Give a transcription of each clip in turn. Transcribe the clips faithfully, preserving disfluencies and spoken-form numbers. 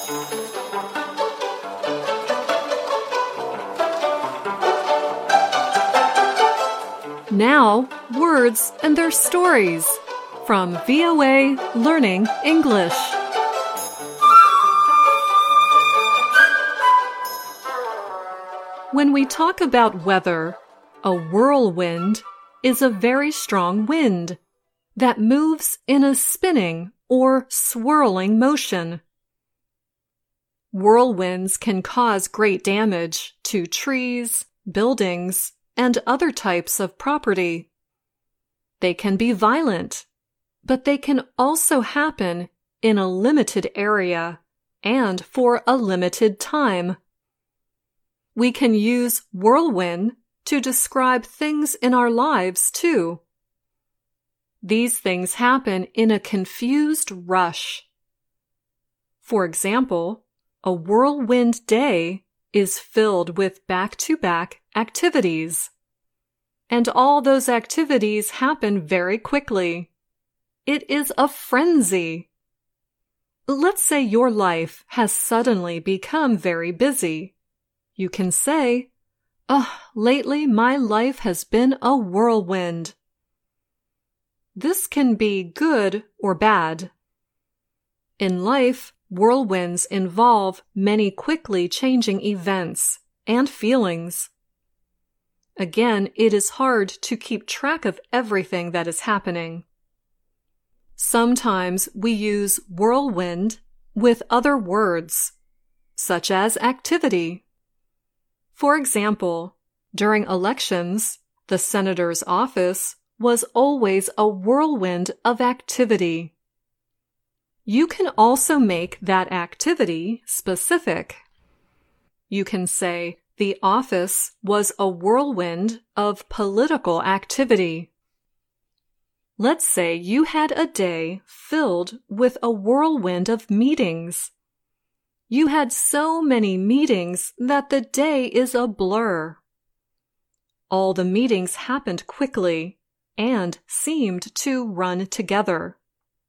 Now, words and their stories from V O A Learning English. When we talk about weather, a whirlwind is a very strong wind that moves in a spinning or swirling motion. Whirlwinds can cause great damage to trees, buildings, and other types of property. They can be violent, but they can also happen in a limited area and for a limited time. We can use whirlwind to describe things in our lives too. These things happen in a confused rush. For example, a whirlwind day is filled with back-to-back activities. And all those activities happen very quickly. It is a frenzy. Let's say your life has suddenly become very busy. You can say, "Oh, lately my life has been a whirlwind." This can be good or bad. In life, whirlwinds involve many quickly changing events and feelings. Again, it is hard to keep track of everything that is happening. Sometimes we use whirlwind with other words, such as activity. For example, during elections, the senator's office was always a whirlwind of activity. You can also make that activity specific. You can say, the office was a whirlwind of political activity. Let's say you had a day filled with a whirlwind of meetings. You had so many meetings that the day is a blur. All the meetings happened quickly and seemed to run together.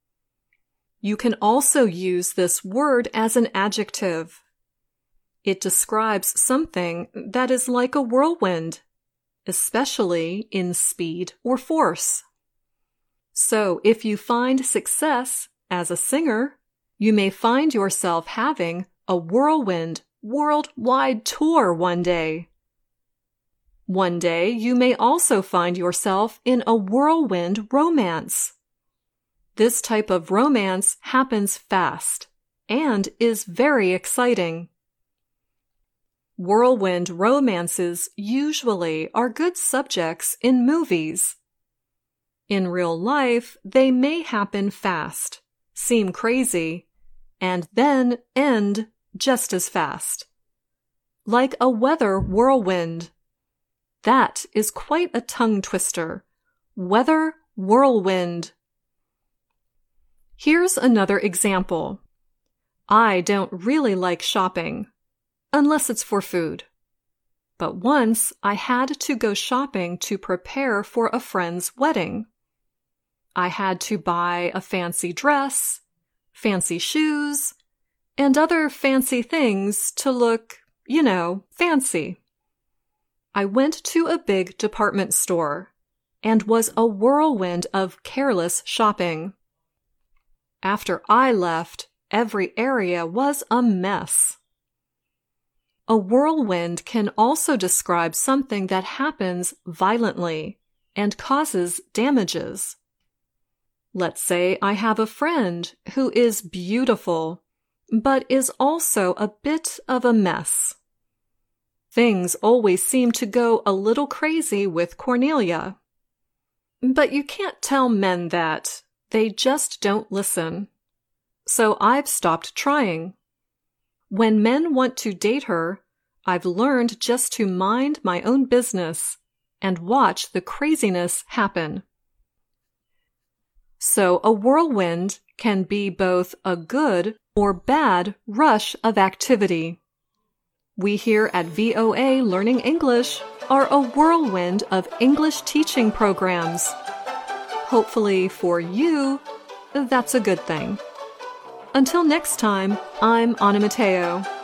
You can also use this word as an adjective. It describes something that is like a whirlwind, especially in speed or force. So if you find success as a singer, you may find yourself having a whirlwind worldwide tour one day. One day you may also find yourself in a whirlwind romance. This type of romance happens fast and is very exciting. Whirlwind romances usually are good subjects in movies. In real life, they may happen fast, seem crazy, and then end just as fast. Like a weather whirlwind. That is quite a tongue twister. Weather whirlwind. Here's another example. I don't really like shopping, unless it's for food. But once I had to go shopping to prepare for a friend's wedding. I had to buy a fancy dress, fancy shoes, and other fancy things to look, you know, fancy. I went to a big department store and was a whirlwind of careless shopping. After I left, every area was a mess. A whirlwind can also describe something that happens violently and causes damages. Let's say I have a friend who is beautiful, but is also a bit of a mess. Things always seem to go a little crazy with Cornelia. But you can't tell men that. They just don't listen. So I've stopped trying. When men want to date her, I've learned just to mind my own business and watch the craziness happen. So a whirlwind can be both a good or bad rush of activity. We here at V O A Learning English are a whirlwind of English teaching programs. Hopefully for you, that's a good thing. Until next time, I'm Anna Matteo.